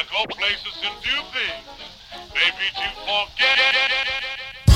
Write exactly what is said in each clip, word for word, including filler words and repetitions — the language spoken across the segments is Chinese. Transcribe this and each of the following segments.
go places and do things. Maybe to forget it.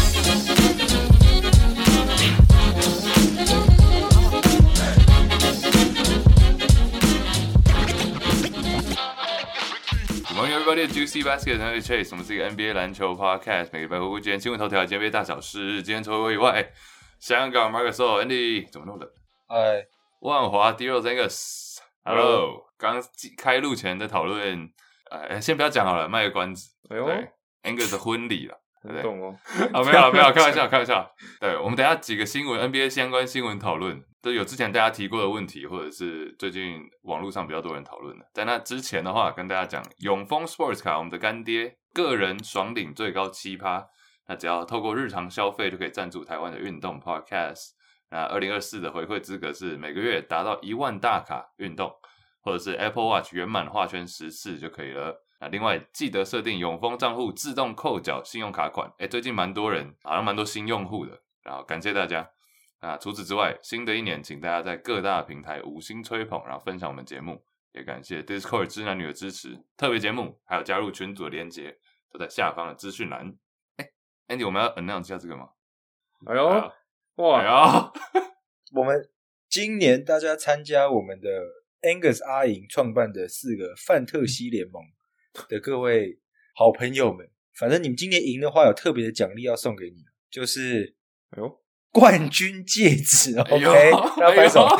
Good morning, everybody. Juicy Basket 和 Chase， 我們是一個 N B A 籃球 podcast， 每個禮拜回顧今天新聞頭條、N B A 大小事。今天除了我以外，香港 Marcus Andy 怎麼弄的？ 哎， 萬華 D Rose Angus，Hello。剛開錄前的討論，呃，先不要講好了，賣個關子。 哎呦， 對 Angus 的婚禮了，對不對？ 懂哦。 啊，沒有了，沒有，開玩笑，開玩笑。對，我們等一下幾個新聞 N B A 相關新聞討論。都有之前大家提過的問題，或者是最近網絡上比較多人討論的。在那之前的話，跟大家講永豐 Sports 卡，我們的乾爹，個人爽領最高 百分之七， 那只要透過日常消費就可以贊助台灣的運動 Podcast。那二零二四的回饋資格是每個月達到一萬大卡運動，或者是 Apple Watch 圓滿畫圈十次就可以了。那另外記得設定永豐賬戶自動扣繳信用卡款，誒最近蠻多人，好像蠻多新用戶的，然後感謝大家。啊，除此之外，新的一年，請大家在各大平台五星吹捧，然後分享我們節目，也感謝 Discord 知男女的支持。特別節目還有加入群組的連結，都在下方的資訊欄。哎 ，Andy， 我們要 announce 一下這個嗎？ 哎呦， 哎哇！ 哎呦我們今年大家參加我們的 Angus 阿瑩創辦的四個范特西聯盟的各位好朋友們，反正你們今年贏的話，有特別的獎勵要送給你，就是哎呦。冠軍戒指 ，OK，大家拍手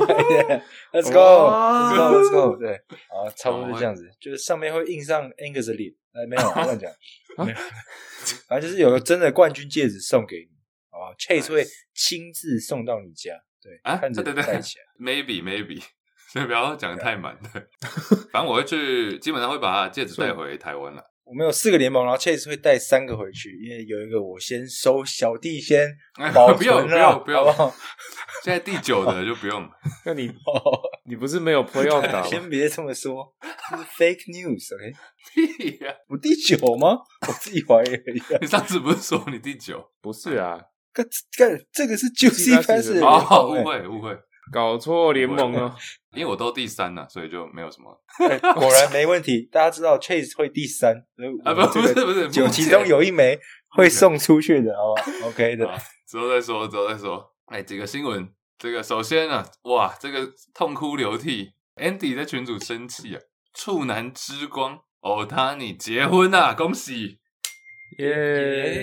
，Let's go，Let's go，Let's go， 對，啊，差不多是這樣子，就是上面會印上 Angus 的臉，哎，沒有，亂講，沒有，反正就是有個真的冠軍戒指送給你，好吧 ，Chase 會親自送到你家，對， 啊， 看着你戴起來 ，maybe maybe， 所以不要講得太滿，對，反正我會去，基本上會把戒指帶回台灣了。 我們有四個聯盟，然後 Chase 會帶三個回去，因為有一個我先收，小弟先保存了， 不要不要不要， 好不好？ 現在第九的就不用了。 那你你不是沒有 playoff 打嗎？ 先別這麼說，這是 fake news，OK？、 Okay? 屁呀、啊！ 我第九嗎？我自己懷疑而已。 你上次不是說你第九？ 不是啊， 幹幹這個是 Juicy Basket 哦，誤會誤會， 搞錯聯盟了。 因為我都第三了、啊，所以就沒有什麼、 欸。果然沒問題，大家知道 Chase 會第三， 啊不不是不是， 九其中有一枚會送出去的，好吧 ？OK 的， 之後再說，之後再說。哎、欸，幾個新聞，這個首先啊，哇，這個痛哭流涕 ，Andy 在群組生氣啊，處男之光歐塔尼結婚啊，恭喜！ 耶、yeah ！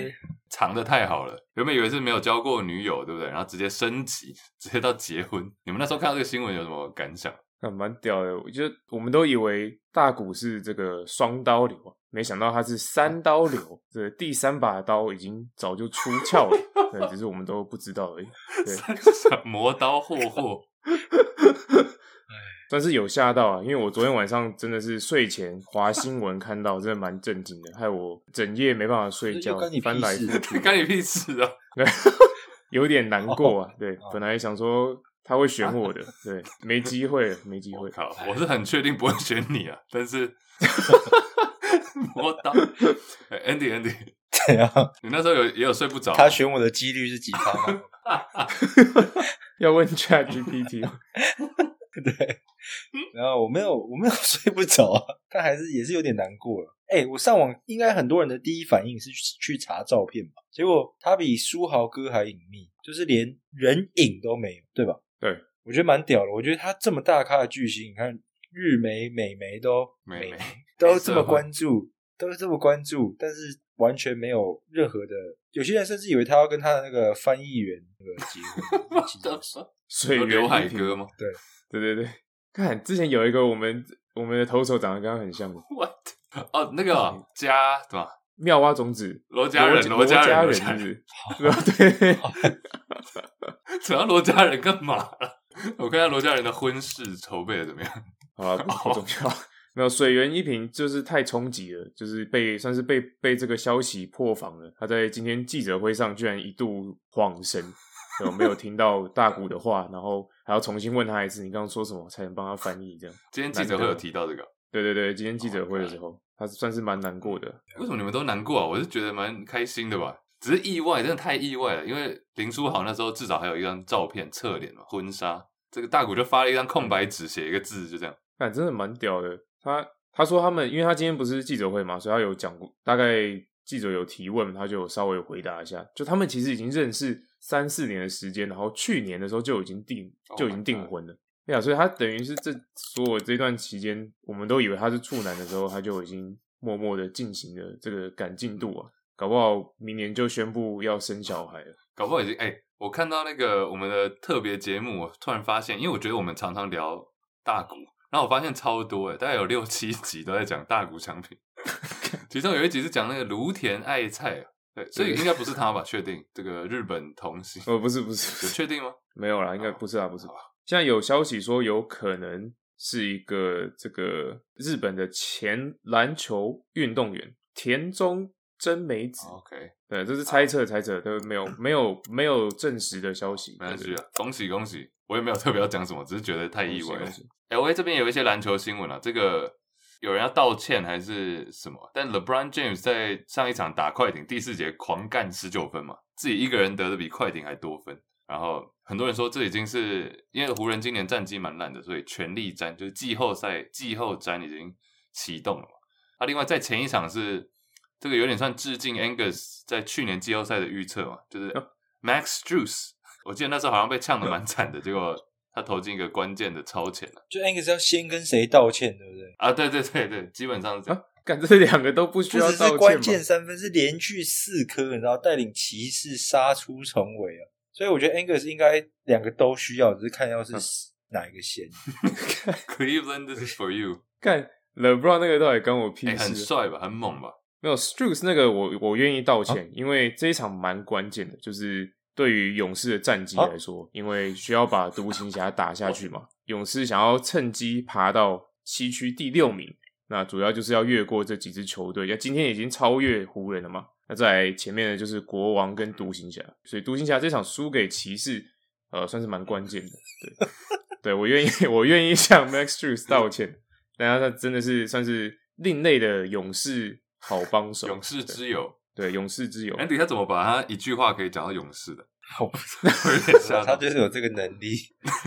藏得太好了，原本以為是沒有交過女友，對不對？然後直接升級，直接到結婚。你們那時候看到這個新聞有什麼感想？ 還蠻屌的，我覺得我們都以為大谷是這個雙刀流，沒想到他是三刀流，這個、第三把刀已經早就出鞘了，對，只是我們都不知道而已。對， 磨刀霍霍。 算是有嚇到啊，因為我昨天晚上真的是睡前滑新聞看到，真的蠻震驚的，害我整夜沒辦法睡覺，翻來覆去， 干你屁事啊！ 對，有點難過啊。對，本來想說他會選我的，對，沒機會了，沒機會。 靠，我是很確定不會選你啊，但是磨刀，Andy Andy， 怎樣？ 你那時候有也有睡不着？ 他選我的幾率是幾趴嗎？ 要問 ChatGPT。 對，然後我沒有，我沒有睡不着啊，但還是也是有點難過了。哎，我上網，應該很多人的第一反應是去查照片吧，結果他比書豪哥還隱秘，就是連人影都沒有，對吧？ 對， 我覺得蠻屌的。我覺得他這麼大咖的巨星，你看日媒、美媒都美媒都這麼關注，都這麼關注，但是完全沒有任何的，有些人甚至以為他要跟他的那個翻譯員那個結婚，其實水源劉海哥嗎？ 對。 對對對，看之前有一個我們我們的投手長得跟他很像的 ，What？ 哦，那個家對吧？ 妙蛙種子羅家人，羅家人， 是不是？對， 主要羅家人幹嘛了？我看下羅家人的婚事籌備的怎麼樣？ 好了，不重要。沒有水源一平就是太衝擊了，就是被算是被被這個消息破防了。他在今天記者會上居然一度恍神。我沒有聽到大谷的話，然後還要重新問他一次，你剛剛說什麼才能幫他翻譯？這樣。 今天記者會有提到這個？ 對對對，今天記者會的時候， oh、他算是蠻難過的。 為什麼你們都難過啊？我是覺得蠻開心的吧，只是意外，真的太意外了。因為林書豪那時候至少還有一張照片側臉嘛，婚紗。這個大谷就發了一張空白紙，寫一個字，就這樣。 但真的蠻屌的，他。 他說他們，因為他今天不是記者會嘛，所以他有講過，大概記者有提問，他就有稍微回答一下。就他們其實已經認識三四年的時間，然後去年的時候就已經訂就已經訂婚了。對啊，所以他等於是這所有這段期間，我們都以為他是處男的時候，他就已經默默的進行了這個趕進度啊。搞不好明年就宣布要生小孩了。 搞不好已經哎、欸，我看到那個我們的特別節目，我突然發現，因為我覺得我們常常聊大谷。然後我發現超多誒，大概有六七集都在講大谷翔平，其中有一集是講那個蘆田愛菜啊，對，所以應該不是他吧？確定這個日本童星？ 哦，不是不是， 有確定嗎？ 沒有啦，應該不是啊，不是。現在有消息說有可能是一個這個日本的前籃球運動員田中真美子。 OK， 對，這是猜測猜測，都沒有沒有沒有證實的消息。 沒關係啊，恭喜恭喜！我也沒有特別要講什麼，只是覺得太意外了。 恭喜恭喜 L A 這邊有一些籃球新聞啊，這個有人要道歉還是什麼？但 LeBron James 在上一場打快艇第四節狂幹十九分嘛，自己一個人得的比快艇還多分。然後很多人說這已經是因為湖人今年戰績蠻爛的，所以全力戰就是季後賽季後戰已經啟動了嘛。啊，另外在前一場是這個有點算致敬 Angus 在去年季後賽的預測嘛，就是 Max Strus， 我記得那時候好像被嗆得蠻慘的，結果他投進一個關鍵的超前了。 就 Angus 要先跟誰道歉，對不對？ 啊，對對對對，基本上是這樣。 幹、啊、這兩個都不需要道歉嗎？ 不只是關鍵三分，是連續四顆，你知道，帶領騎士殺出重圍啊！所以我覺得 Angus 應該兩個都需要，只是看要是哪一個先。 Cleveland, this is for you。 幹 LeBron 那個到底關我屁事？ 欸、很帥吧，很猛吧？ 沒有 Strus 那個我我願意道歉， 啊、 因為這一場蠻關鍵的，就是對於勇士的戰績來說，啊、因為需要把獨行俠打下去嘛。勇士想要趁機爬到西區第六名，那主要就是要越過這幾支球隊，今天已經超越湖人了嘛。那在前面的就是國王跟獨行俠，所以獨行俠這場輸給騎士，呃，算是蠻關鍵的。對，對我願意，我願意向 Max Strus 道歉，但他真的是算是另類的勇士好幫手， 勇士之友， 對，勇士之友。 Andy 他怎麼把他一句話可以講到勇士的？ 我不知道，他就是有這個能力。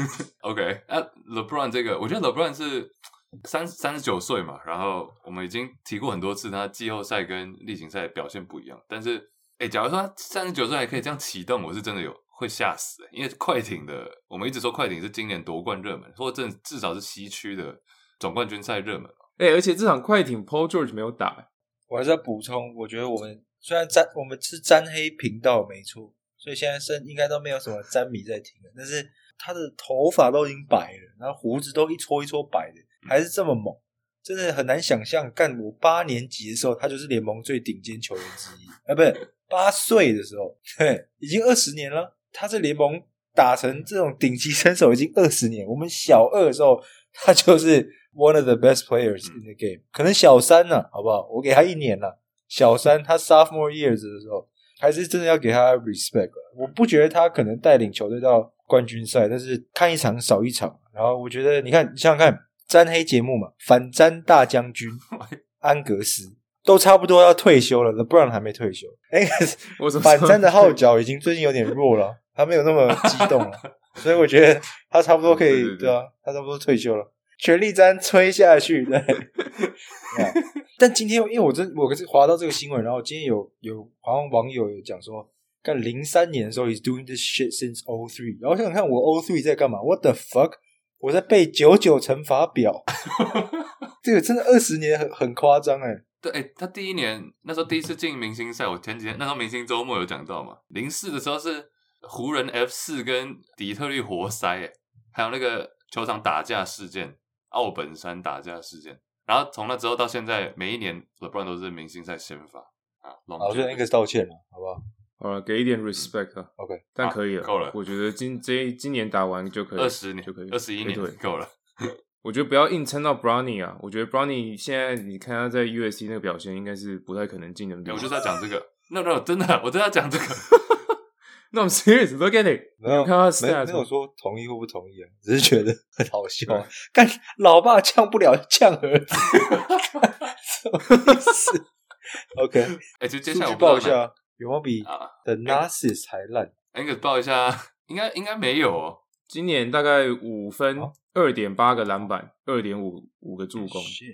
OK， 那、啊、LeBron 這個，我覺得 LeBron 是三三十九歲嘛，然後我們已經提過很多次，他季後賽跟例行賽表現不一樣。但是，哎，假如說他三十九歲還可以這樣啟動，我是真的有會嚇死、欸。因為快艇的，我們一直說快艇是今年奪冠熱門，或者至少是西區的總冠軍賽熱門。 哎，而且這場快艇 Paul George 沒有打、欸， 我還是要補充，我覺得我們雖然沾我們是沾黑頻道沒錯。所以現在是應該都沒有什麼詹迷在聽了，但是他的頭髮都已經白了，然後鬍子都一撮一撮白的，還是這麼猛，真的很難想象。幹我八年級的時候，他就是聯盟最頂尖球員之一，啊，不是八歲的時候，對，已經二十年了。他在聯盟打成這種頂級身手已經二十年。我們小二的時候，他就是 one of the best players in the game，可能小三呢、啊，好不好？我給他一年了，小三，他 sophomore years 的時候。還是真的要給他 respect。我不覺得他可能帶領球隊到冠軍賽，但是看一場少一場。然後我覺得，你看，你想想看，沾黑節目嘛，反沾大將軍安格斯都差不多要退休了 ，LeBron 還沒退休。哎，反沾的號角已經最近有點弱了，他沒有那麼激動了，所以我覺得他差不多可以，對，對，對，對啊，他差不多退休了，全力沾吹下去，對。但今天因為我真我可是滑到這個新聞，然後今天有有好像網友有講說，幹零三年的時候 he's doing this shit since oh three， 然後想想看我 oh three 在幹嘛 ？What the fuck？ 我在背九九乘法表，這個真的二十年很很誇張哎。 對，哎，他第一年那時候第一次進明星賽，我前幾天那時候明星周末有講到嘛，零四的時候是湖人 F 四跟底特律活塞，哎，還有那個球場打架事件，奧本山打架事件。然後從那之後到現在，每一年 LeBron 都是明星賽先發啊。 我覺得 Angus 道歉了，好不好？ 呃，給一點 respect 啊。 OK， 但可以了， 夠了。 我覺得今這今年打完就可以， 二十年就可以， 二十一年夠了。 我覺得不要硬撐到 Bronny 啊。我覺得 Bronny 現在你看他在 U S C 那個表現，應該是不太可能進 N B A。 我就是要講這個。No No， 真的，我真的要講這個。 No, I'm serious. Look at it. 沒有， 看他 stats 沒有說同意或不同意啊，只是覺得很好笑啊。幹老爸嗆不了，嗆兒子，什麼意思 ？OK， 哎、欸，就接下來我報一下，有沒有比 The Narcissus 還爛 ？Angus 報一下，應該應該沒有哦。 今年大概五分，二點八個籃板，二點五五個助攻。對，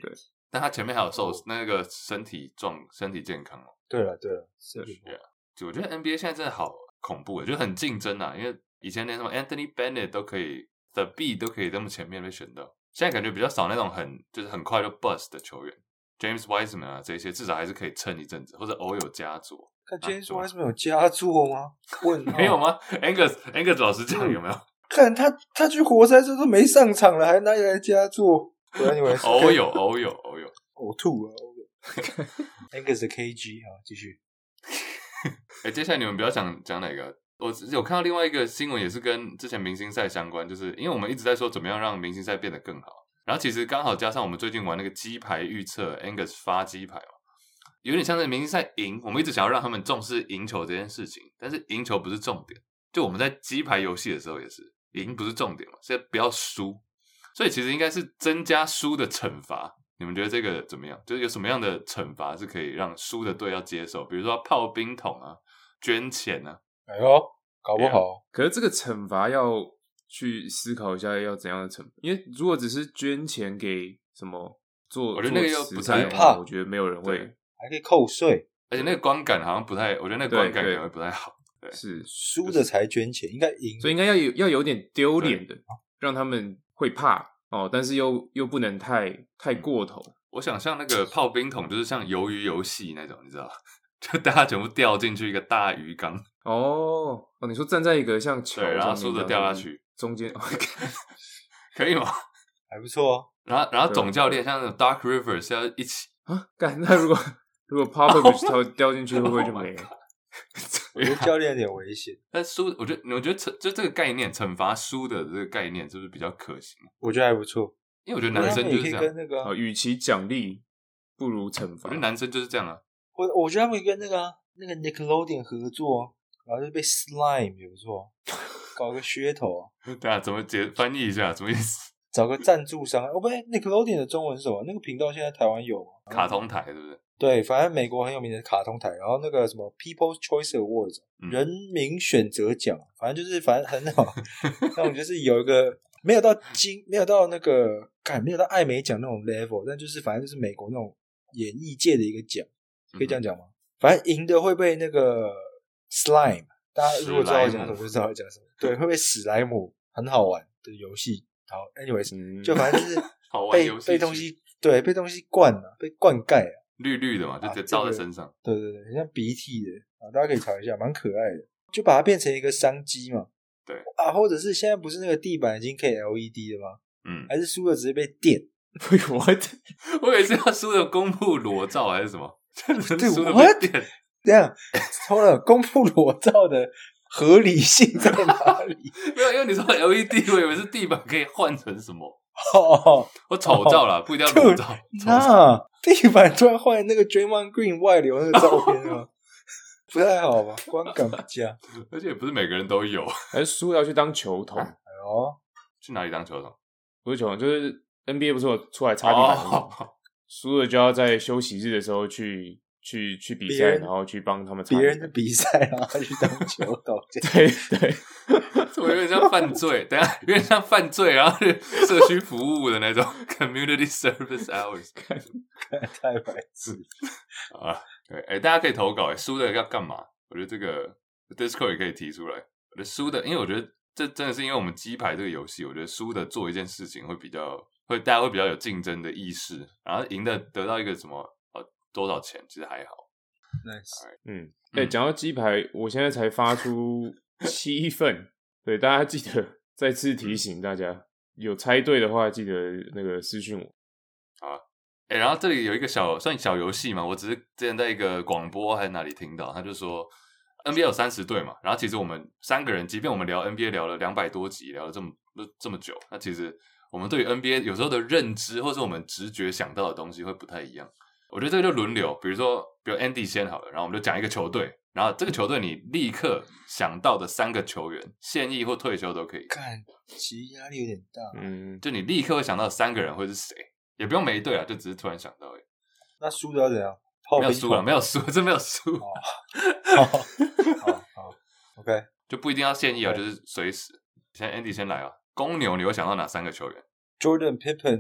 但他前面還有受那個身體狀、身體健康哦。 對了對了，是的。 就我覺得 N B A 現在真的好恐怖，就很競爭啊。因為以前連什麼 Anthony Bennett 都可以 ，The B 都可以這麼前面被選到，現在感覺比較少那種很就是很快就 bust 的球員。James Wiseman 啊，這些至少還是可以撐一陣子，或者偶有佳作。 看 James Wiseman 有佳作嗎？問沒有嗎 ？Angus Angus 老實講有沒有？ 看他他去活塞之後都沒上場了，還哪裡來佳作？ 偶有偶有偶有， 嘔吐了。Angus 的 K G 啊，繼續。 哎、欸，接下來你們比較想講哪個？我有看到另外一個新聞，也是跟之前明星賽相關，就是因為我們一直在說怎麼樣讓明星賽變得更好，然後其實剛好加上我們最近玩那個雞排預測 ，Angus 發雞排哦，有點像是明星賽贏，我們一直想要讓他們重視贏球這件事情，但是贏球不是重點，就我們在雞排遊戲的時候也是，贏不是重點嘛，所以不要輸，所以其實應該是增加輸的懲罰。你們覺得這個怎麼樣？就是有什麼樣的懲罰是可以讓輸的隊要接受？比如說泡冰桶啊、捐錢啊。 哎呦，搞不好。 可是這個懲罰要去思考一下要怎樣的懲罰，因為如果只是捐錢給什麼做， 我覺得那個又不太怕， 我覺得沒有人會， 還可以扣稅， 而且那個觀感好像不太，我覺得那個觀感可能會不太好。對，對是輸的才捐錢，應該贏， 所以應該要有要有點丟臉的，讓他們會怕。哦，但是又又不能太太過頭。 我想像那個泡冰桶，就是像魷魚遊戲那種，你知道，就大家全部掉進去一個大魚缸。 哦哦，你說站在一個像橋， 對，然後輸的掉下去， 中間可以嗎？ 還不錯啊。 然後然後總教練像那種 Doc Rivers 要一起啊，幹那如果如果 Popovich 掉掉進去，會不會就沒了？ 我覺得教練有點危險， 但輸，我覺得，我覺得懲就這個概念，懲罰輸的這個概念，是不是比較可行？ 我覺得還不錯， 因為我覺得男生就是這樣。 跟那個、啊， 與其獎勵，不如懲罰。 我覺得男生就是這樣啊。 我我覺得他們跟那個、啊、那個 Nickelodeon 合作，然後就被 Slime 也不錯，搞個噱頭啊。 對啊，怎麼解翻譯一下？什麼意思？ 找個贊助商。哦不對 ，Nickelodeon 的中文是什麼？那個頻道現在台灣有嗎？ 卡通台，對不對？ 對，反正美國很有名的卡通台，然後那個什麼 People's Choice Awards、嗯、人民選擇獎，反正就是反正很好，那種就是有一個沒有到金，沒有到那個，幹沒有到艾美獎那種 level，但就是反正就是美國那種演藝界的一個獎，可以這樣講嗎？嗯、反正贏的會被那個 slime， 大家如果知道我講什麼就知道我講什麼，對，會被史萊姆，很好玩的遊戲。好 ，anyways，、嗯、就反正就是被被東西對被東西灌了、啊，被灌溉啊。綠綠的嘛，就直接照在身上、啊這個。對對對，很像鼻涕的啊，大家可以查一下，蠻可愛的。就把它變成一個商機嘛。 對啊，或者是現在不是那個地板已經可以 L E D 了嗎？ 嗯， 還是輸了直接被電？ 我我以為是要輸了公布裸照還是什麼？ 對， 輸了被電。 這樣，錯了，公布裸照的合理性在哪裡？ 沒有，因為你說 L E D， 我以為是地板可以換成什麼。 哦， 我醜照啦，不一定要裸照。 那地板突然換那個 Draymond Green 外流那個照片啊，不太好吧？觀感不佳， 而且也不是每個人都有。 還是輸要去當球童？哎呦， 去哪裡當球童？ 不是球童，就是 N B A 不是有出來擦地板嗎？輸了就要在休息日的時候去。去去比賽，然後去幫他們擦。 別人的比賽，然後去當球童。 對對， 我有點像犯罪，等一下有點像犯罪，然後是社區服務的那種 community service hours， 太白痴啊！對，哎，大家可以投稿，哎，輸的要幹嘛？我覺得這個 Discord 也可以提出來。我覺得輸的，因為我覺得這真的是因為我們雞排這個遊戲，我覺得輸的做一件事情會比較會大家會比較有競爭的意識，然後贏的得到一個什麼。多少錢其實還好 ，nice， 嗯，哎、欸，講到雞排，我現在才發出七份，對，大家記得再次提醒大家，有猜對的話，記得那個私訊我。 好，哎、欸，然後這裡有一個小算小遊戲嘛，我只是之前在一個廣播還是哪裡聽到，他就說 N B A 有三十隊嘛，然後其實我們三個人，即便我們聊 N B A 聊了兩百多集，聊了這麼這麼久，那其實我們對於 N B A 有時候的認知，或是我們直覺想到的東西會不太一樣。我覺得這個就輪流，比如說，比如 Andy 先好了，然後我們就講一個球隊，然後這個球隊你立刻想到的三個球員，現役或退休都可以。 看，其實壓力有點大。 嗯，就你立刻會想到的三個人會是誰，也不用每一隊啊，就只是突然想到而已。 那輸的要怎樣？ 沒有輸了，沒有輸，真沒有輸。 哦，好，好，好 ，OK， 就不一定要現役啊，就是隨時。現在 Andy 先來啊，公牛你會想到哪三個球員？ Jordan Pippen。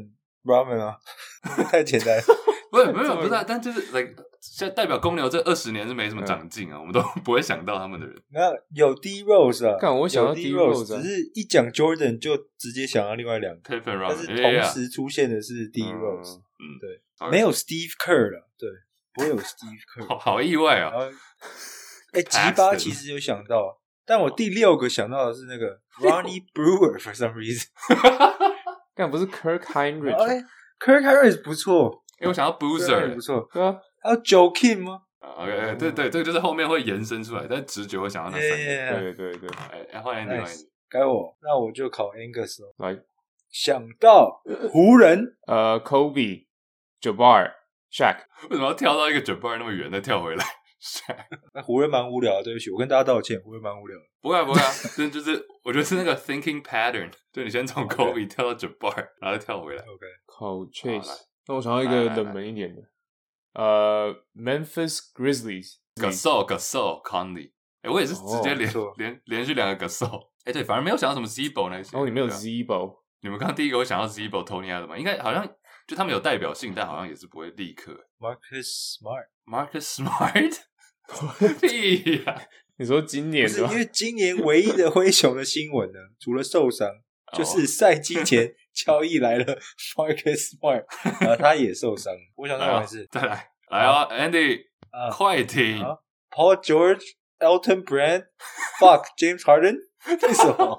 ramen 啊，太簡單了。 不是，沒有，不是、啊，但就是 like 現在代表公牛這二十年是沒什麼長進啊，嗯、我們都不會想到他們的人。 那有 D Rose 啊， 幹我想到 D Rose，、啊、 只是一講 Jordan 就直接想到另外兩個，但是同時出現的是 D Rose， 嗯， 對， 嗯、 沒有 Steve Kerr 了，對，不會有 Steve Kerr， 好, 好意外啊！ 哎，吉巴其實有想到，但我第六個想到的是那個 Ronnie Brewer for some reason， 幹不是 Kirk Hinrich，Kirk Hinrich 不錯。 因為我想要 Boozer 不錯， 對啊， 還有 Joakim 嗎 ？OK， 對對，這個就是後面會延伸出來，但直覺會想到那三個。 Yeah, yeah. 對對對， 哎，換 Andy， nice. 該我，那我就考 Angus 咯。 來， 想到湖人， 呃 ，Kobe、Jabbar、Shaq， 為什麼要跳到一個 Jabbar 那麼遠再跳回來 ？Shaq， 那湖人蠻無聊的，對不起，我跟大家道歉，湖人蠻無聊的。 不會啊不會啊，就就是我覺得是那個 thinking pattern， 就你先從 Kobe、okay. 跳到 Jabbar， 然後再跳回來。 OK， 考 Chase。那我想要一個冷門一點的，呃 ，Memphis Grizzlies，Gasol Gasol Conley， 哎，我也是直接連、哦、連連續兩個 Gasol， 哎，對，反而沒有想到什麼 Z-Bo 那些。 哦，你沒有 Z-Bo， 你們剛剛第一個會想到 Z-Bo Tony Allen，應該好像就他們有代表性，但好像也是不會立刻。 Marcus Smart，Marcus Smart， 屁呀、啊！ 你說今年是因為今年唯一的灰熊的新聞呢，除了受傷，就是賽季前。交易來了 ，Marcus Smart， 然後他也受傷。我想那回事， 再來，來哦 ，Andy，、啊、快聽、 啊、，Paul George、Elton Brand，Fuck，James Harden， 為什麼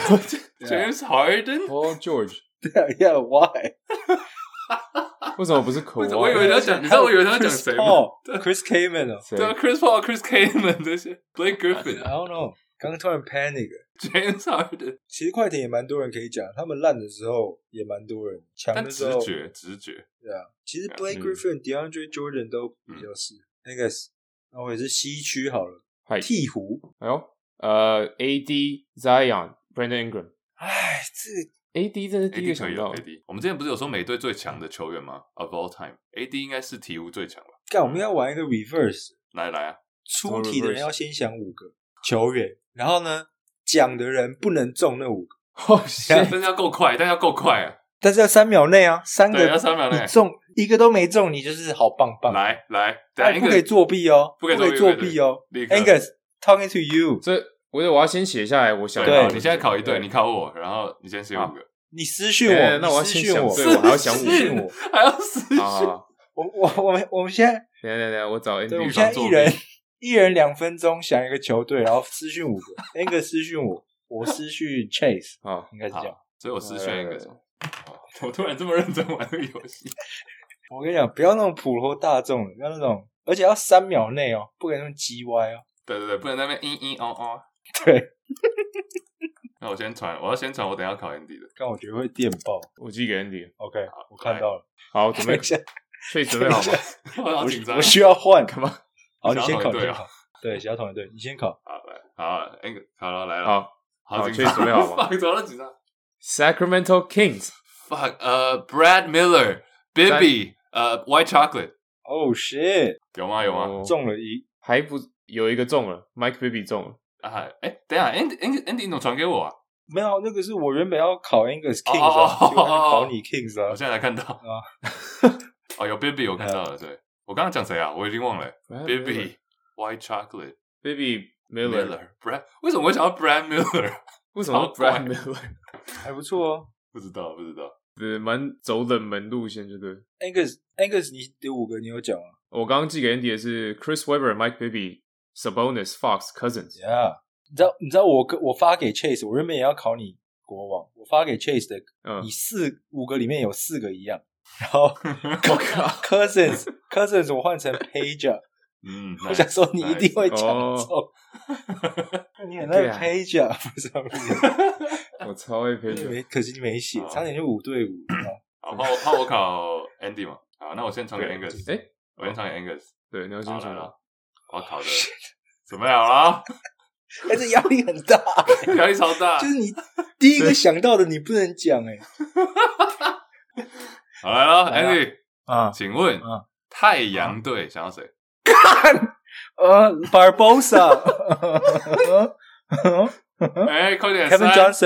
？James Harden，Paul George， 對啊 ，Yeah，Why？ 為什麼不是 Kawhi？ 我以為他講，你知道我以為他講誰嗎 ？Chris Kaman 啊， 對啊 ，Chris Paul、Chris Kaman 這些 ，Blake Griffin，I don't know， 剛剛突然 panic。James Harden， 其實快艇也蠻多人可以講，他們爛的時候也蠻多人，強的時候直覺直覺，對啊。其實 Blake Griffin、DeAndre Jordan 都比較是那個，那我也是西區好了，鹈鶘。 哎呦，呃 ，A D、Zion、Brandon Ingram。哎， 這個 A D 真是第一個想到。 A D， 我們之前不是有說美隊最強的球員嗎 ？Of all time，A D 應該是鹈鶘最強吧？ 幹，我們要玩一個 reverse， 來來啊， 出題的人要先想五個球員，然後呢？講的人不能中那五個， 哦，但是要夠快，但要夠快啊！ 但是要三秒內啊，三個要三秒內中一個都沒中，你就是好棒棒。 來來， 但不可以作弊哦，不可以作弊哦。Angus talking to you， 這我我要先寫下來，我想對，你現在考一隊，你考我，然後你先寫五個， 你私訊我， 那我要先想，對，我還要想五個， 還要私訊。 我我我們我們現在， 等下等下，我找 Andy， 我們現在一人。一人兩分鐘想一個球隊，然後私訊五個，Angus 私訊我，我私訊 Chase， 好， 應該是這樣， 所以我私訊 Angus。我突然這麼認真玩這個遊戲， 我跟你講，不要那種普羅大眾的，不要那種，而且要三秒內哦，不可以那麼嘰歪哦。 對對對，不能在那邊嚶嚶哦哦。 對。 那我先傳，我要先傳，我等一下考 Andy 的。 但我覺得會電爆， 我寄給 Andy。OK， 我看到了。 好，準備一下，Chase 準備好嗎？ 我好緊張， 我需要換， 幹嘛？ 好，你先考，你先考。對，想要同一隊，你先考。 好，來，好，那個好了，來了， 好， 好， 準備好嗎？ 怎麼了？緊張。 Sacramento Kings。Fuck， 呃 ，Brad Miller，Bibby，呃 ，White Chocolate。Oh shit！ 有嗎？有嗎？ 中了一， 還不有一個中了 ，Mike Bibby 中了。 啊，哎，等一下 ，Andy，Andy，Andy，你怎麼傳給我啊？ 沒有，那個是我原本要考 Angus Kings 啊，結果考你 Kings 啊。 我現在才看到啊。哦，有 Bibby， 我看到了，對。我剛剛講誰啊？我已經忘了。Bibby。White Chocolate, Baby Miller, Miller, Brad， 為什麼會想到 Brad Miller？ 為什麼 Brad Miller？ 還不錯哦， 不知道，不知道， 對，蠻走冷門路線，就對。 Angus, Angus， 你第五個你有講啊？ 我剛剛寄給 Andy 的是 Chris Webber, Mike Bibby, Sabonis, Fox, Cousins。Yeah， 你知道，你知道我我發給 Chase， 我原本也要考你國王，我發給 Chase 的，嗯、你四五個裡面有四個一樣，然後我靠 Cousins, Cousins 我換成 Pager。嗯，我想說你一定會搶中，你很愛 Pager 不是？ 我超愛 Pager， 可惜你沒寫，差點就五對五。 好，怕我怕我考 Andy 嘛？好，那我先傳給 Angus。哎，我先傳給 Angus。 對，你要先傳了。 我要考的準備好了？ 哎，這壓力很大， 壓力超大。 就是你第一個想到的，你不能講哎。 好來了 ，Andy 啊，請問太陽隊想要誰？ 呃 Barbosa 哎，快點 ，Kevin Johnson，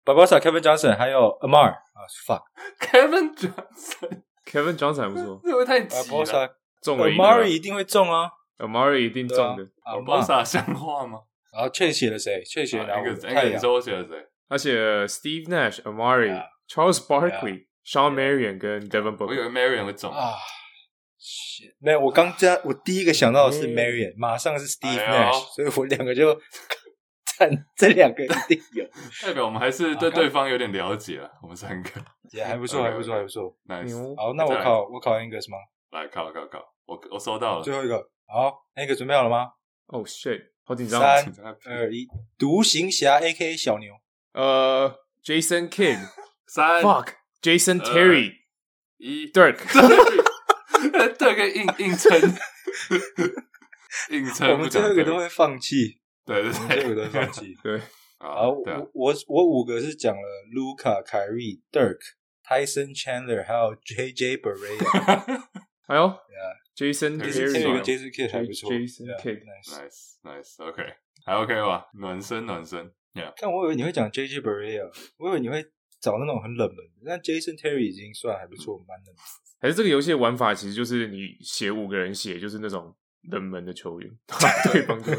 Barbosa、Kevin Johnson 還有 Amar 啊 ，fuck，Kevin Johnson，Kevin Johnson 還不錯， 這會太急了。 Barbosa 中了一個 Amari 一定會中啊 ，Amari 一定中的。 Barbosa 像話嗎？ 然後確寫了誰？確寫了哪個？ 太陽。說我寫了誰？ 他寫了 Steve Nash、Amari、Charles Barkley、Sean Marion 跟 Devin Booker。 我以為 Marion 會中啊。沒有，我剛這我第一個想到的是 Marion，、嗯、馬上是 Steve Nash，、哎、所以我兩個就讚這兩個一定有， 代表我們還是對對方有點了解了。我們三個也還不錯，還不錯，還不錯。 Nice。 好，那我考我考 Angus 嗎？ 來考考考，我我收到了。 最後一個，好 ，Angus 準備好了嗎？ 哦、oh, shit， 好緊張。 三二一，獨行俠 A K A 小牛。 呃、uh, ，Jason Kidd。 三 ，Fuck，Jason Terry。 一 ，Dirk。 對，個硬硬撐，硬撐。 我們最後一個都會放棄， 對對對， 我們最後一個都會放棄。 對， 好，我我我五個是講了 Luka、Kyrie、Dirk、Tyson Chandler， 還有 J J Barea。 哎呦 ，Jason Terry、Jason Kidd 還不錯 ，Jason Kidd，nice，nice，OK， 還 OK 吧？暖身暖身。 看我以為你會講 J J Barea， 我以為你會找那種很冷門的，但 Jason Terry 已經算還不錯，蠻冷門。 還是這個遊戲的玩法其實就是你寫五個人寫就是那種冷門的球員，對方就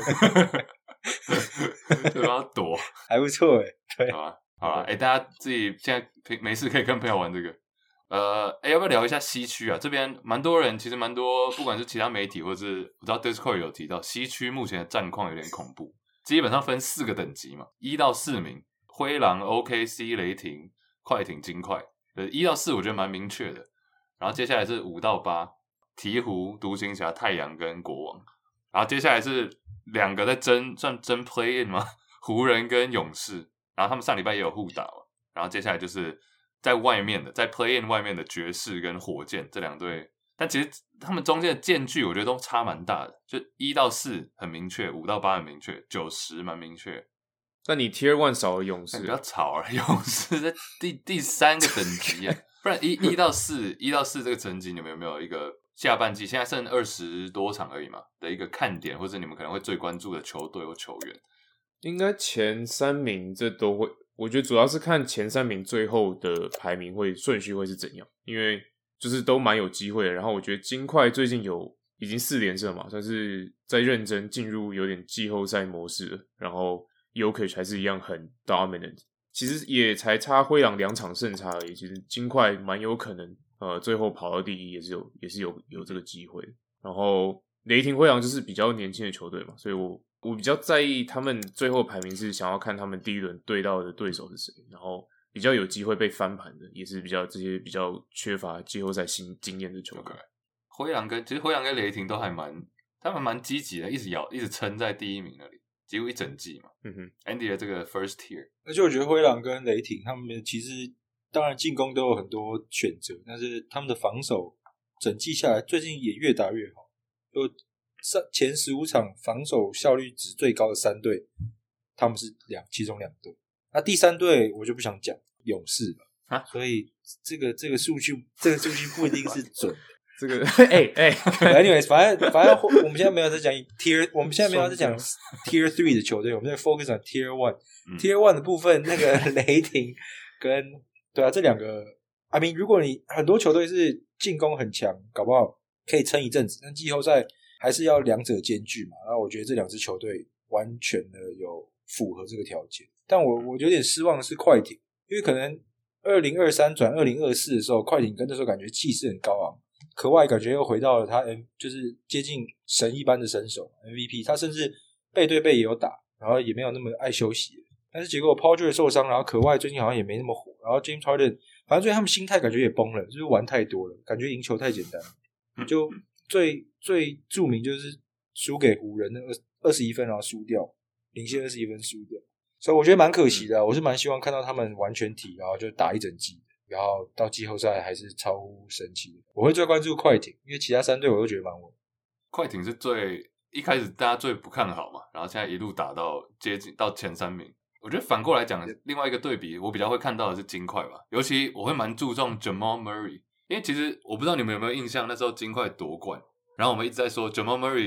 對方躲， 還不錯哎。對， 好啊，好啊，哎、欸，大家自己現在沒事可以跟朋友玩這個。呃，哎、欸，要不要聊一下西區啊？這邊蠻多人，其實蠻多，不管是其他媒體或是我知道 Discord 有提到，西區目前的戰況有點恐怖，基本上分四個等級嘛，一到四名，灰狼、O K C、雷霆、快艇、金塊，呃，一到四我覺得蠻明確的。然後接下來是五到八，鹈鶘、獨行俠、太陽跟國王。然後接下來是兩個在爭，算爭 play in 嗎？湖人跟勇士。然後他們上禮拜也有互打。然後接下來就是在外面的，在 play in 外面的爵士跟火箭這兩隊。但其實他們中間的間距我覺得都差蠻大的，就一到四很明確，五到八很明確，九十蠻明確。 但你 Tier One 少了勇士， 比較吵啊！勇士在第第三個等級啊。不然一一到四，一到四這個成績，你們有沒有一個下半季現在剩二十多場而已嘛的一個看點，或者你們可能會最關注的球隊或球員？ 應該前三名這都會，我覺得主要是看前三名最後的排名會順序會是怎樣，因為就是都蠻有機會的。然後我覺得金塊最近有已經四連勝嘛，算是在認真進入有點季後賽模式了。然後 Jokic 還是一樣很 dominant。其實也才差灰狼兩場勝差而已，其實金塊蠻有可能，呃，最後跑到第一也是有，也是有有這個機會。然後雷霆灰狼就是比較年輕的球隊嘛，所以我我比較在意他們最後排名是想要看他們第一輪對到的對手是誰，然後比較有機會被翻盤的，也是比較這些比較缺乏季後賽新經驗的球隊。Okay. 灰狼跟其實灰狼跟雷霆都還蠻，他們蠻積極的，一直咬，一直撐在第一名那裡。幾乎一整季嘛，嗯哼 ，Andy 的這個 first tier， 而且我覺得灰狼跟雷霆他們其實當然進攻都有很多選擇，但是他們的防守整季下來最近也越打越好。就前十五場防守效率值最高的三隊，他們是兩其中兩隊。那第三隊我就不想講勇士了啊，所以這個這個數據這個數據不一定是準。 這個哎哎 ，anyways， 反正反正我們現在沒有在講 tier， 我們現在沒有在講 tier three 的球隊，我們在 focus on tier one。tier one 的部分，那個雷霆跟對啊這兩個 ，I mean， 如果你很多球隊是進攻很強，搞不好可以撐一陣子，但季後賽還是要兩者兼具嘛。然後我覺得這兩支球隊完全的有符合這個條件，但我我有點失望的是快艇，因為可能二零二三轉二零二四的時候，快艇跟那時候感覺氣勢很高昂。可外感覺又回到了他 M， 就是接近神一般的身手 M V P， 他甚至背對背也有打，然後也沒有那麼愛休息。但是結果 Paul George 受傷，然後可外最近好像也沒那麼火，然後 James Harden 反正最近他們心態感覺也崩了，就是玩太多了，感覺贏球太簡單了。就最最著名就是輸給湖人的二十一分，然後輸掉，領先二十一分輸掉，所以我覺得蠻可惜的、啊。我是蠻希望看到他們完全體，然後就打一整季。然後到季後賽還是超乎神奇的。我會最關注快艇，因為其他三隊我都覺得蠻穩。 快艇是最一開始大家最不看好嘛，然後現在一路打到接近到前三名。我覺得反過來講，另外一個對比，我比較會看到的是金塊吧。尤其我會蠻注重 Jamal Murray，因為其實我不知道你們有沒有印象，那時候金塊奪冠，然後我們一直在說 Jamal Murray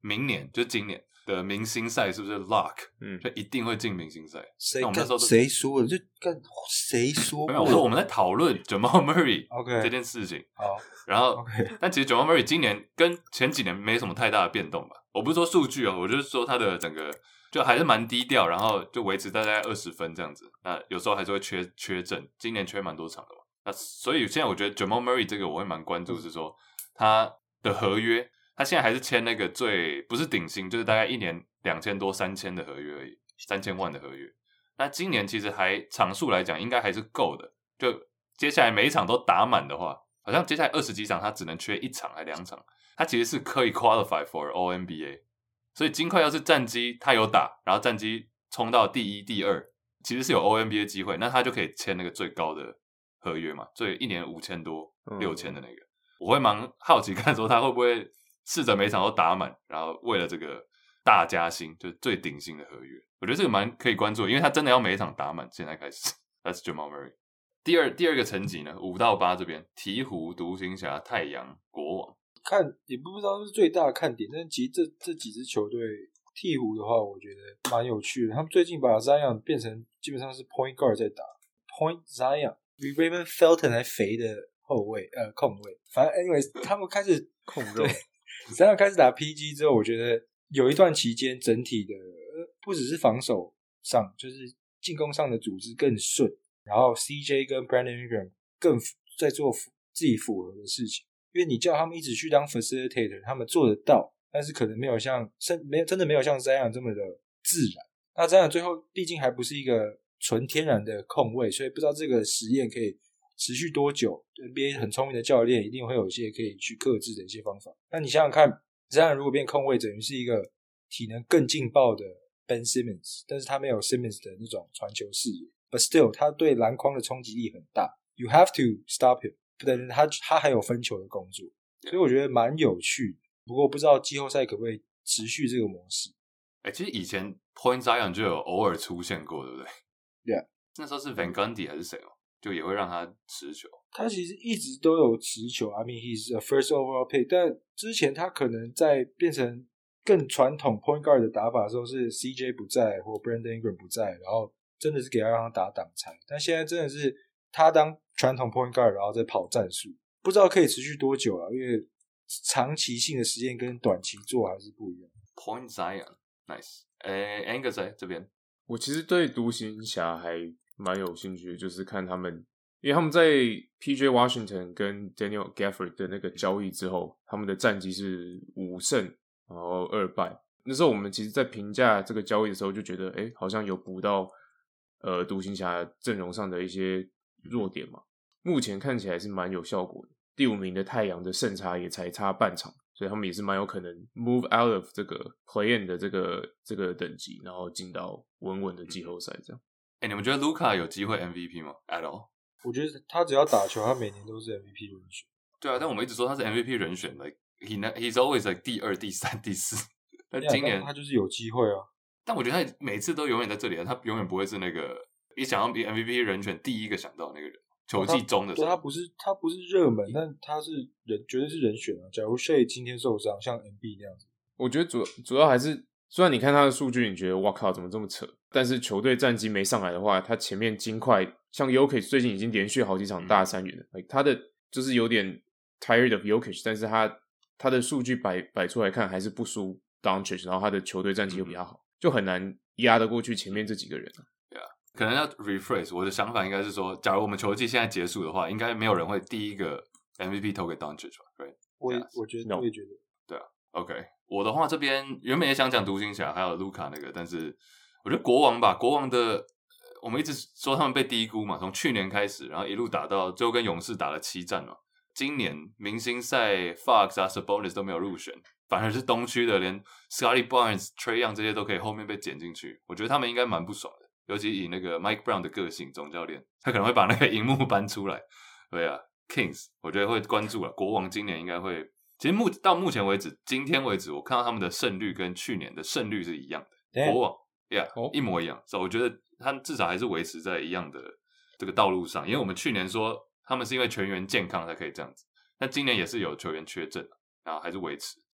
明年就今年的明星賽是不是 lock？ 嗯， 就一定會進明星賽。 誰那我們那時候誰說的？就幹誰說過？ 沒有，我說我們在討論 Jamal Murray OK 這件事情。 好， 然後 OK 但其實 Jamal Murray 今年跟前幾年沒什麼太大的變動吧。我不是說數據哦，我就是說他的整個就還是蠻低調，然後就維持大概二十分這樣子。那有時候還是會缺缺陣，今年缺蠻多場的嘛。那所以現在我覺得 Jamal Murray 這個我會蠻關注，是說他的合約，他現在還是簽那個最不是頂薪，就是大概一年兩千多三千的合約而已，三千萬的合約。那今年其實還場數來講，應該還是夠的。就接下來每一場都打滿的話，好像接下來二十幾場他只能缺一場還兩場，他其實是可以 qualify for All N B A。所以金塊要是戰績他有打，然後戰績衝到第一、第二，其實是有 All N B A 機會，那他就可以簽那個最高的合約嘛，所以一年五千多、六千的那個。嗯、我會蠻好奇看說他會不會試着每場都打滿，然後為了這個大加薪，就是最頂薪的合約。我覺得這個蠻可以關注，因為他真的要每一場打滿。現在開始 ，That's Jamal Murray。第二第二個層級呢，五到八這邊，鹈鶘、獨行俠、太陽、國王。 看也不知道是最大的看點，但是其實這這幾支球隊，鹈鶘的話，我覺得蠻有趣的。他們最近把 Zion 變成基本上是 Point Guard 在打 ，Point Zion 比 Raymond Felton 還肥的後衛呃控衛。反正 anyways 他們開始控肉 ，Zion 開始打 P G 之後，我覺得有一段期間整體的不只是防守上，就是進攻上的組織更順，然後 C J 跟 Brandon Ingram 更在做自己符合的事情。因為你叫他們一直去當 facilitator， 他們做得到，但是可能沒有像沒有真的沒有像 Zion 這麼的自然。那 Zion 最後畢竟還不是一個純天然的控衛，所以不知道這個實驗可以持續多久。N B A 很聰明的教練一定會有一些可以去克制的一些方法。那你想想看 ，Zion 如果變控衛，等於是一個體能更勁爆的 Ben Simmons， 但是他沒有 Simmons 的那種傳球視野 ，but still 他對籃筐的衝擊力很大。You have to stop him。不等他他還有分球的工作，所以我覺得蠻有趣的。不過不知道季後賽可不可以持續這個模式。 哎、欸，其實以前 Point Zion 就有偶爾出現過，對不對？ 對啊， 那時候是 Van Gundy 還是誰哦？就也會讓他持球。 他其實一直都有持球 I mean he's a first overall pick， 但之前他可能在變成更傳統 Point Guard 的打法的時候，是 C J 不在或 Brandon Ingram 不在，然後真的是給他讓他打擋拆。但現在真的是他當傳統 point guard， 然後再跑戰術，不知道可以持續多久啊？因為長期性的實驗跟短期做還是不一樣。 Point Zion，nice。誒 ，Angus 在這邊， 我其實對獨行俠還蠻有興趣的，就是看他們，因為他們在 P J Washington 跟 Daniel Gafford 的那個交易之後，他們的戰績是五勝然後二敗。那時候我們其實，在評價這個交易的時候，就覺得，誒，好像有補到呃獨行俠陣容上的一些弱點嘛。目前看起來是蠻有效果的。第五名的太陽的勝差也才差半場，所以他們也是蠻有可能 move out of 這個 play-in 的這個這個等級，然後進到穩穩的季後賽這樣。 哎、欸，你們覺得盧卡有機會 M V P 嗎 ？At all？ 我覺得他只要打球，他每年都是 M V P 人選。 對啊，但我們一直說他是 M V P 人選 ，like he he's always like 第二、第三、第四。但今年他就是有機會啊。 但我覺得他每次都永遠在這裡，他永遠不會是那個一想要比 M V P 人選第一個想到的那個人。球季中的時候， 對，他不是他不是熱門，但他是人，絕對是人選啊。假如 Shea 今天受傷，像 M B 那樣子， 我覺得主主要還是，雖然你看他的數據，你覺得哇靠，怎麼這麼扯？但是球隊戰績沒上來的話，他前面金塊像 Jokic 最近已經連續好幾場大三元了，嗯 like, 他的就是有點 tired of Jokic， 但是他他的數據擺擺出來看還是不輸 Doncic， 然後他的球隊戰績又比較好，嗯、就很難壓得過去前面這幾個人。 可能要 rephrase 我的想法，應該是說，假如我們球季現在結束的話，應該沒有人會第一個 M V P 投給 Doncic 吧 right？ 我也、yes. 我覺得，no. 我也覺得， 對啊。OK， 我的話這邊原本也想講獨行俠還有盧卡那個，但是我覺得國王吧，國王的我們一直說他們被低估嘛，從去年開始，然後一路打到最後跟勇士打了七戰嘛。今年明星賽 Fox 啊 Sabonis 都沒有入選，反而是東區的連 Scottie Barnes、Trae Young 這些都可以後面被撿進去，我覺得他們應該蠻不爽的。尤其以那個 Mike Brown 的個性，總教練他可能會把那個熒幕搬出來。對啊 ，Kings 我覺得會關注了。國王今年應該會，其實目到目前為止，今天為止，我看到他們的勝率跟去年的勝率是一樣的。Damn. 國王，Yeah，、oh. 一模一樣。所以我覺得他至少還是維持在一樣的這個道路上。因為我們去年說他們是因為全員健康才可以這樣子，但今年也是有球員缺陣，然後還是維持。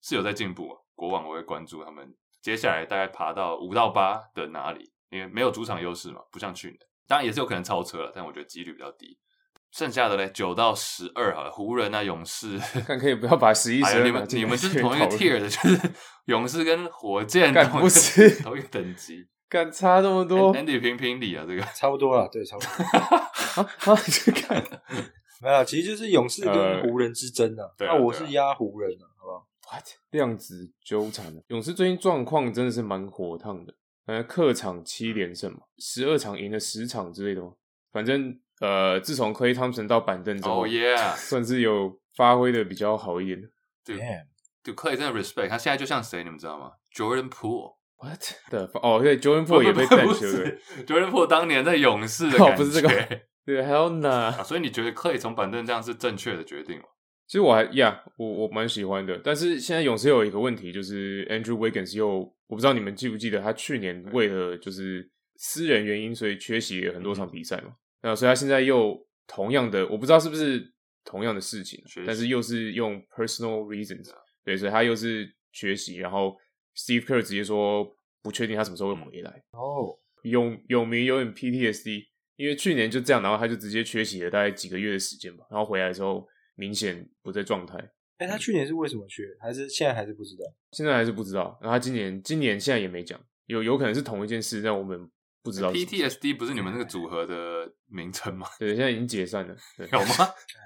是有在進步。國網我會關注他們接下來大概爬到五到八的哪裡，因為沒有主場優勢嘛，不像去年，當然也是有可能超車了，但我覺得幾率比較低。剩下的嘞九到十二好了，湖人啊勇士， 看可以不要把十一、十二、 哎、你們你們就是同一個 tier 的，就是勇士跟火箭幹不是同一個等級， 幹差這麼多 ，Andy 評評理啊，這個差不多了，對，差不多。 啊啊，去看沒有，其實就是勇士跟湖人之爭啊。那、呃啊、我是壓湖人啊，好不好 ？What？ 量子糾纏，勇士最近狀況真的是蠻火燙的，呃，客場七連勝嘛，十二場贏了十場之類的嘛，反正。呃，自從 Klay Thompson 到板凳之後， oh, yeah. 算是有發揮的比較好一點的。 對，對 Klay 真的 respect， 他現在就像誰，你們知道嗎 ？Jordan Poole。What？ 對， 哦，對 ，Jordan Poole 也被 bench 了。 Jordan Poole 當年在勇士的感覺， 哦、不是這個，對 ，Hell no、啊。 所以你覺得 Klay 從板凳這樣是正確的決定嗎？ 其實我還呀，我我蠻喜歡的，但是現在勇士有一個問題，就是 Andrew Wiggins 又，我不知道你們記不記得，他去年為了就是私人原因，所以缺席了很多場比賽嘛。嗯那所以他現在又同樣的，我不知道是不是同樣的事情，但是又是用 personal reasons， 對，所以他又是缺席，然後 Steve Kerr 直接說不確定他什麼時候會回來。哦，有有名有點 P T S D， 因為去年就這樣，然後他就直接缺席了大概幾個月的時間吧，然後回來的時候明顯不在狀態。 哎、欸，他去年是為什麼缺？還是現在還是不知道？ 現在還是不知道。然後他今年今年現在也沒講，有有可能是同一件事，但我們。不知道 P T S D 不是你們那個組合的名稱嗎？ 對，現在已經解散了。對有嗎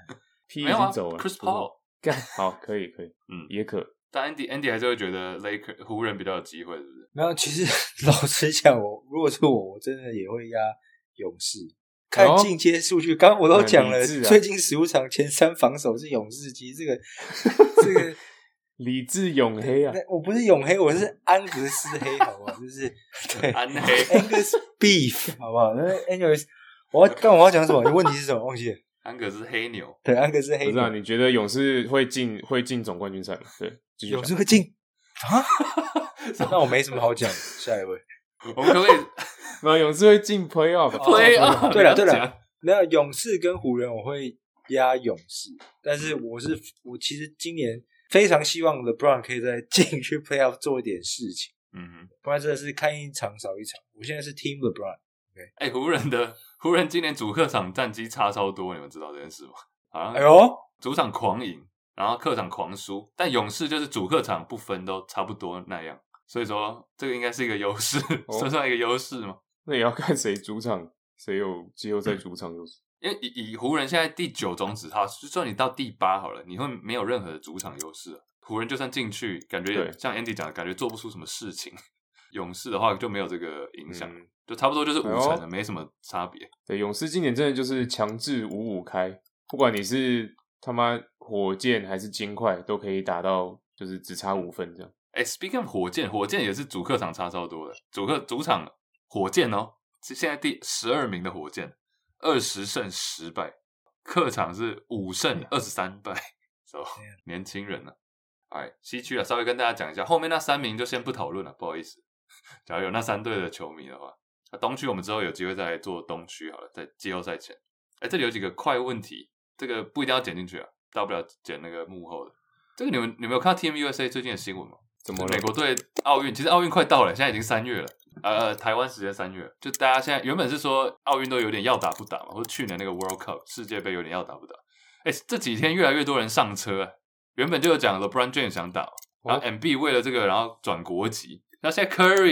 ？P 已經走了。 啊、Chris Paul 幹好，可以可以， 嗯， 也可。 但 Andy Andy 還是會覺得 Lakers 湖人比較有機會，是不是？ 沒有，其實老實講，我如果是我，我真的也會壓勇士。看進階數據，剛、哦、剛我都講了，啊、最近十五場前三防守是勇士，其實這個這個。 理智黝黑啊！ 我不是黝黑，我是安格斯黑，好不好？就是對安黑 Angus Beef， 好不好？那 anyways， 我要剛我要講什麼？你問題是什麼？忘記了。 安格斯黑牛， 對，安格斯黑牛。 不是啊？你覺得勇士會進會進總冠軍賽嗎？對， 勇士會進啊？那我沒什麼好講。下一位， 我們可不可以？ 那勇士會進 Playoff？Playoff？ 對了對了，那勇士跟湖人我會壓勇士，但是我是我其實今年。非常希望 LeBron 可以再進去 Playoff 做一點事情，嗯哼，不然真的是看一場少一場。我現在是 Team LeBron。 哎、okay 欸，湖人的湖人今年主客場戰績差超多，你們知道這件事嗎？好像，哎呦，主場狂贏，然後客場狂輸，但勇士就是主客場不分都差不多那樣，所以說這個應該是一個優勢，哦、算算一個優勢嗎？ 那也要看誰主場，誰有季後賽主場優勢。 因為以以湖人現在第九種子套，就算你到第八好了，你會沒有任何的主場優勢。湖人就算進去，感覺像 Andy 講的，感覺做不出什麼事情。勇士的話就沒有這個影響，嗯、就差不多就是五成了，哎、沒什麼差別。 對，勇士今年真的就是強制五五開，不管你是他媽火箭還是金塊，都可以打到就是只差五分這樣。 哎 ，Speaking of 火箭，火箭也是主客場差超多的，主客主場火箭哦，是現在第十二名的火箭。二十勝十敗，客場是五勝二十三敗，so, 年輕人呢、啊？哎，西區啊，稍微跟大家講一下，後面那三名就先不討論了，不好意思。假如有那三隊的球迷的話，那東區我們之後有機會再來做東區好了，在季後賽前。哎，這裡有幾個快問題，這個不一定要剪進去啊，大不了剪那個幕後的。這個你們你們有看到 Team U S A 最近的新聞嗎？怎麼了？美國隊奧運，其實奧運快到了，現在已經三月了。呃，台灣時間三月，就大家現在原本是說奧運都有點要打不打嘛，或者去年那個 World Cup 世界盃有點要打不打。哎，這幾天越來越多人上車，原本就有講 LeBron James 想打，然後 M B 為了這個然後轉國籍，然後現在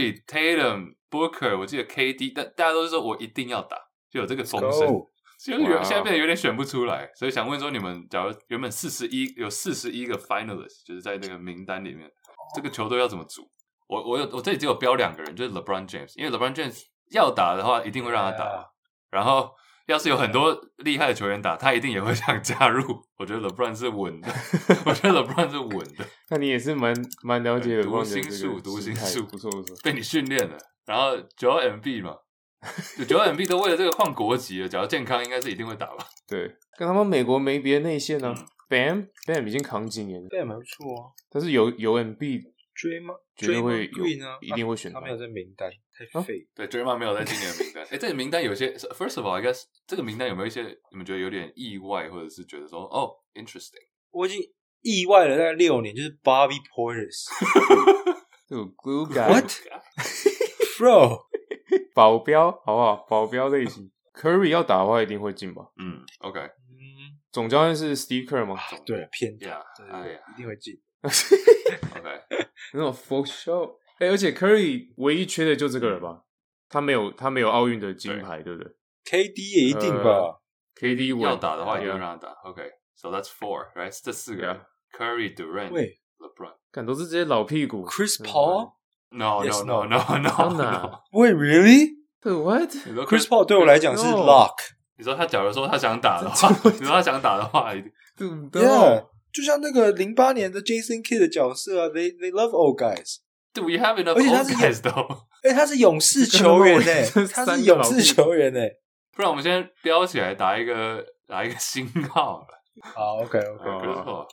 Curry、Tatum、Booker， 我記得 K D， 但大家都是說我一定要打，就有這個風聲，就有現在變得有點選不出來，所以想問說你們，假如原本四十一有四十一個 finalist， 就是在那個名單裡面，這個球隊要怎麼組？我我有我這裡只有標兩個人，就是 LeBron James， 因為 LeBron James 要打的話，一定會讓他打。Yeah. 然後要是有很多厲害的球員打，他一定也會想加入。我覺得 LeBron 是穩的，我覺得 LeBron 是穩的。 那你也是蠻蠻了解的， 讀心術，讀心術， 不錯不錯， 被你訓練了。然後九 M B 嘛，九 M B 都為了這個換國籍了，只要健康，應該是一定會打吧？ 對，跟他們美國沒別的內線啊。嗯、Bam Bam 已經扛幾年了 ，Bam 還不錯啊。 但是有有 M B。 追嗎？ 絕對會有， 呢一定會選他。 他沒有在名單，太廢。 對，追嗎沒有在今年的名單。哎，這個名單有些 ，First of all，I guess 這個名單有沒有一些你們覺得有點意外，或者是覺得說哦，interesting？ 我已經意外了大概六年，就是 Bobby Portis。 這種 glue guy What bro 保鏢好不好？保鏢類型 Curry 要打的話一定會進吧？ 嗯 ，OK。 嗯， 總教練是 Steve Kerr 嗎？ 對，偏大， Yeah, 對對對，一定會進。 OK， 那種 full show。哎、欸，而且 Curry 唯一缺的就這個了吧？他沒有他沒有奧運的金牌， 對, 對不對 ？K D 也一定吧、呃、 ？K D 要打的話，一定 yeah. 會讓他打。OK，so、okay. that's four，right？ 這四個、yeah.，Curry、Durant、LeBron， 看都是這些老屁股。 Chris Paul？No no no no no no。 Wait really？ What？ Chris Paul 對我來講是 lock。 你說他假如說他想打的話，你說他想打的話，一定。 Yeah， 就像那個零八年的 Jason Kidd 的角色啊 ，They they love old guys。Do we have enough old guys though？ 哎，他是勇士球員哎，他是勇士球員哎。不然我們先標起來打一個打一個星號了。 好 ，OK OK， 沒錯。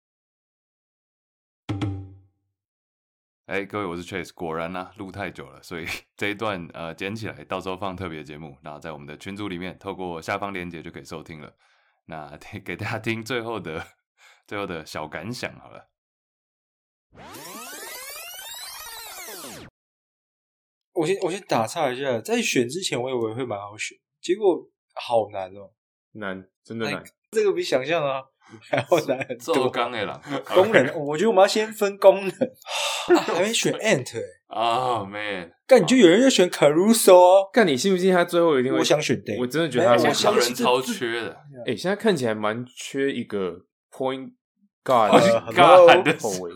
哎，各位，我是 Chase。果然啊，錄太久了，所以這一段呃剪起來，到時候放特別節目，然後在我們的群組裡面，透過下方鏈接就可以收聽了。那給大家聽最後的最後的小感想好了。 我先我先打岔一下，在選之前我以為會蠻好選，結果好難哦， 難，真的難。 這個比想象啊還要難很多。 做工的啦， 功能，我覺得我們要先分功能。啊、還沒選 Ant 哎、欸， 哦、oh, man， 幹你就有人要選 Caruso 哦， 幹你信不信他最後一定會？ 我想選 Day， 我真的覺得他我想人超缺的。 哎、欸，現在看起來蠻缺一個 Point Guard 的後衛。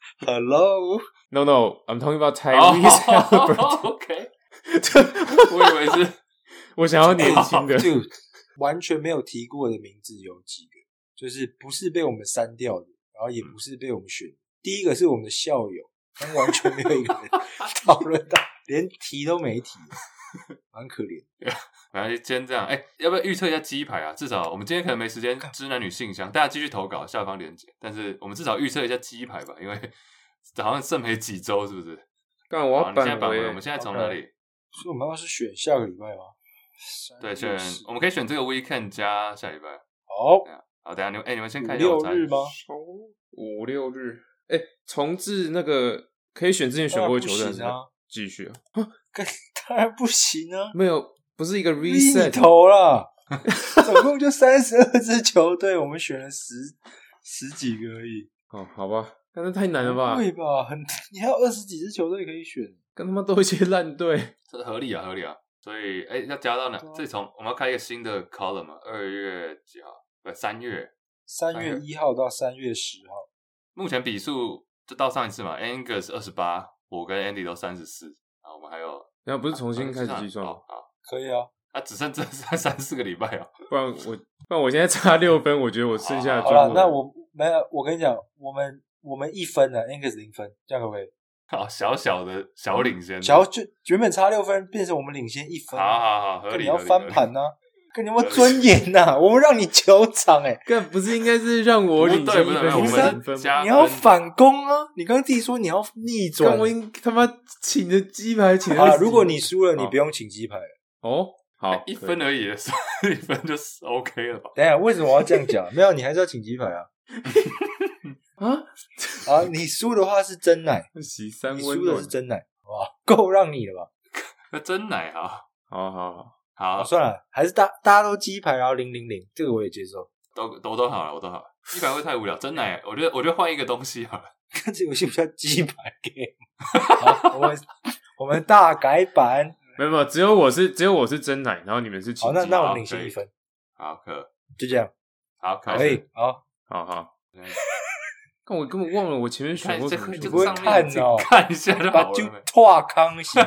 Hello，No No，I'm talking about Tyrese Halliburton。OK， 我以為是我想要年輕的， 就完全沒有提過的名字有幾個，就是不是被我們刪掉的，然後也不是被我們選。第一個是我們的校友，但完全沒有一個人討論到，連提都沒提，蠻可憐。 反正今天這樣，哎、欸，要不要預測一下雞排啊？至少我們今天可能沒時間知男女信箱，大家繼續投稿，下方連結。但是我們至少預測一下雞排吧，因為好像剩沒幾週，是不是？ 幹我要扳回。 我們現在從哪裡？ 所以我們要是選下個禮拜嗎？ 對，選我們可以選這個 weekend 加下禮拜。 好， 好，等一下你們，哎、欸，你們先看一下我猜。 六日嗎？ 五六日。哎、欸，重置那個可以選之前選過的球隊啊， 繼續啊？ 當然不行啊！ 沒有，不是一個 reset 頭啦，總共就三十二支球隊，我們選了十十幾個而已。 哦，好吧，但是太難了吧？ 對吧？很，你還有二十幾支球隊可以選， 跟他媽都一些爛隊， 這合理啊，合理啊。所以，哎、欸，要加到哪？這從我們要開一個新的 column 嘛？二月幾號？不，三月。 三月一號到三月十號。 目前比數就到上一次嘛 ，Angus 二十八，我跟 Andy 都三十四，然後我們還有， 然後不是重新開始計算嗎？ 好，好可以啊， 啊，只剩這三三四個禮拜啊， 不然我不然我現在差六分，我覺得我剩下的好了，那我沒有，我跟你講，我們我們一分啊 ，Angus 零分，這樣可不可以？ 好，小小的小領先， 小就原本差六分，變成我們領先一分， 好好好，合理， 你要翻盤啊。跟你有沒有尊嚴吶？我們讓你球場哎、欸， 幹不是應該是讓我領先一分， 我們分你要反攻啊！你剛剛自己說你要逆轉， 我應他媽請的雞排請的。 好，如果你輸了，你不用請雞排了。 哦，好， 欸、一分而已，一分就是 OK 了吧？ 等一下，為什麼我要這樣講？沒有，你還是要請雞排啊！啊啊！你輸的話是真奶， 洗三溫你輸的是真奶，哇，夠讓你了吧？ 那真奶啊！ 好好好。 好，算了，還是大大家都雞排，然後零零零，這個我也接受， 都都都好了，我都好了。雞排會太無聊，真奶，我覺得我覺得換一個東西好了。 看這遊戲不叫雞排 game， 好，我們我們大改版， 沒有沒有，只有我是只有我是真奶，然後你們是好， 那那我們領先一分， 好，可就這樣， 好， 可以，好， 好好。但我根本忘了我前面選過什麼， 你不會看哦， 看一下就好了， 就拓康行。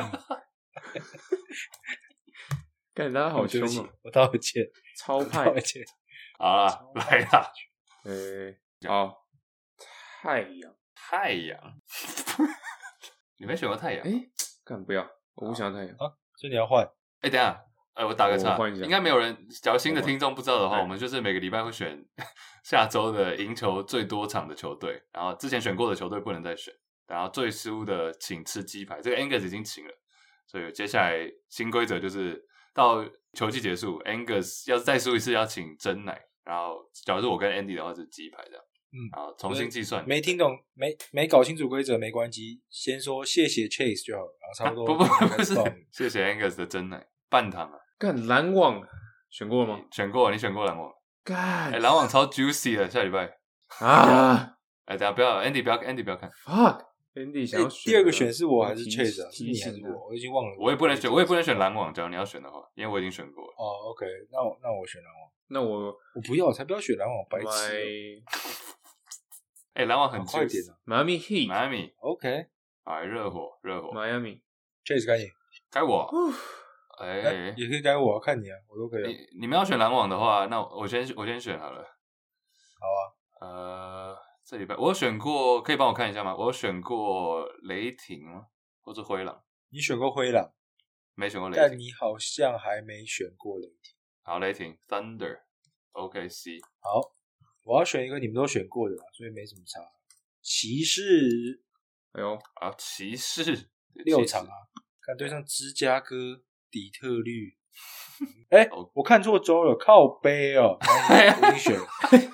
幹大家好凶哦！ 我道歉， 超派， 道歉。 好啦，來啦， 誒，好，太陽， 太陽，你沒選過太陽？ 誒，幹不要，我不想要太陽啊，所以你要換。 誒，等一下，誒，我打個岔，應該沒有人，假如新的聽眾不知道的話，我們就是每個禮拜會選下周的贏球最多場的球隊，然後之前選過的球隊不能再選，然後最輸的請吃雞排，這個 Angus 已經請了，所以接下來新規則就是。到球季結束 ，Angus 要是再輸一次要請真奶，然後假如是我跟 Andy 的話是雞排這樣。 嗯， 好，重新計算。 沒聽懂，沒沒搞清楚規則沒關係，先說謝謝 Chase 就好了，然後差不多、 啊。不不不是，謝謝 Angus 的真奶半糖啊。 幹籃網選過了嗎？ 選過，你選過籃網。 幹， 哎、欸，籃網超 juicy 的，下禮拜啊！ 哎、欸，等下不要 ，Andy 不要 ，Andy 不要看。 Fuck，Andy 想要選、 欸。第二個選是我還是 Chase 啊？ 是你還是我？我已經忘了。 我也不能選，我也不能選籃網。假如你要選的話，因為我已經選過了。 哦、oh, ，OK， 那我那我選籃網。 那我我不要，我才不要選籃網，白痴。 哎，籃網很快點啊 ！Miami Heat，Miami，OK， 哎，熱火，熱火 ，Miami，Chase 該你， 該我。哎、 欸，也可以該我，看你啊，我都可以。 你你們要選籃網的話，那我先我先選好了。 好啊。 呃，這禮拜我有選過，可以幫我看一下嗎？我有選過雷霆嗎？或者灰狼？ 你選過灰狼？ 沒選過雷霆。 但你好像還沒選過雷霆。 好，雷霆 Thunder，O K C。 好，我要選一個你們都選過的啦，所以沒什麼差。騎士， 哎呦， 啊，騎士六場啊，看對上芝加哥、底特律。哎、欸，oh. 我看錯周了，靠背哦，我已經選了。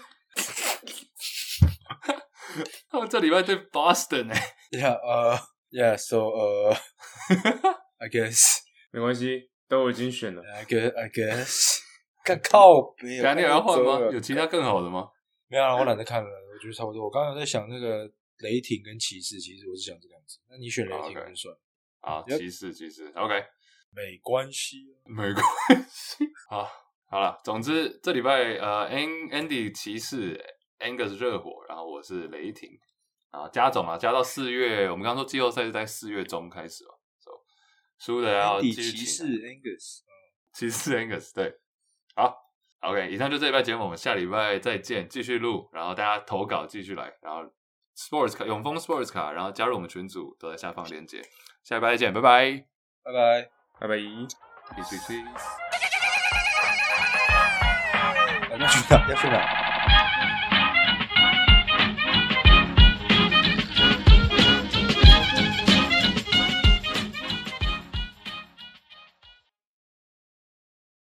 他們這禮拜對 Boston 哎、欸。 Yeah， 呃、uh, ，Yeah，so， 呃、uh, ，I guess 沒關係，都已經選了。 I guess，I guess， 看靠背。 改天有要換嗎？有其他更好的嗎？ 沒有啦，我懶得看了，我覺得差不多。我剛剛在想那個雷霆跟騎士，其實我是想這個樣子。那你選雷霆就算。 啊，騎士，騎士 ，OK， 沒關係、啊， 沒關係。好，好了，總之這禮拜呃，Andy 騎士 ，Angus 熱火，然後我是雷霆啊，加總啊，加到四月，我們剛剛說季後賽是在四月中開始哦，輸、so, 的要繼續請。騎士 Angus， 騎士 Angus， 對，好。OK， 以上就這禮拜節目，我們下禮拜再見，繼續錄，然後大家投稿繼續來，然後 Sports 卡永豐 Sports 卡，然後加入我們群組都在下方鏈接，下禮拜再見，拜拜， 拜拜， 拜拜 ，Peace peace peace， 要去哪？要去哪？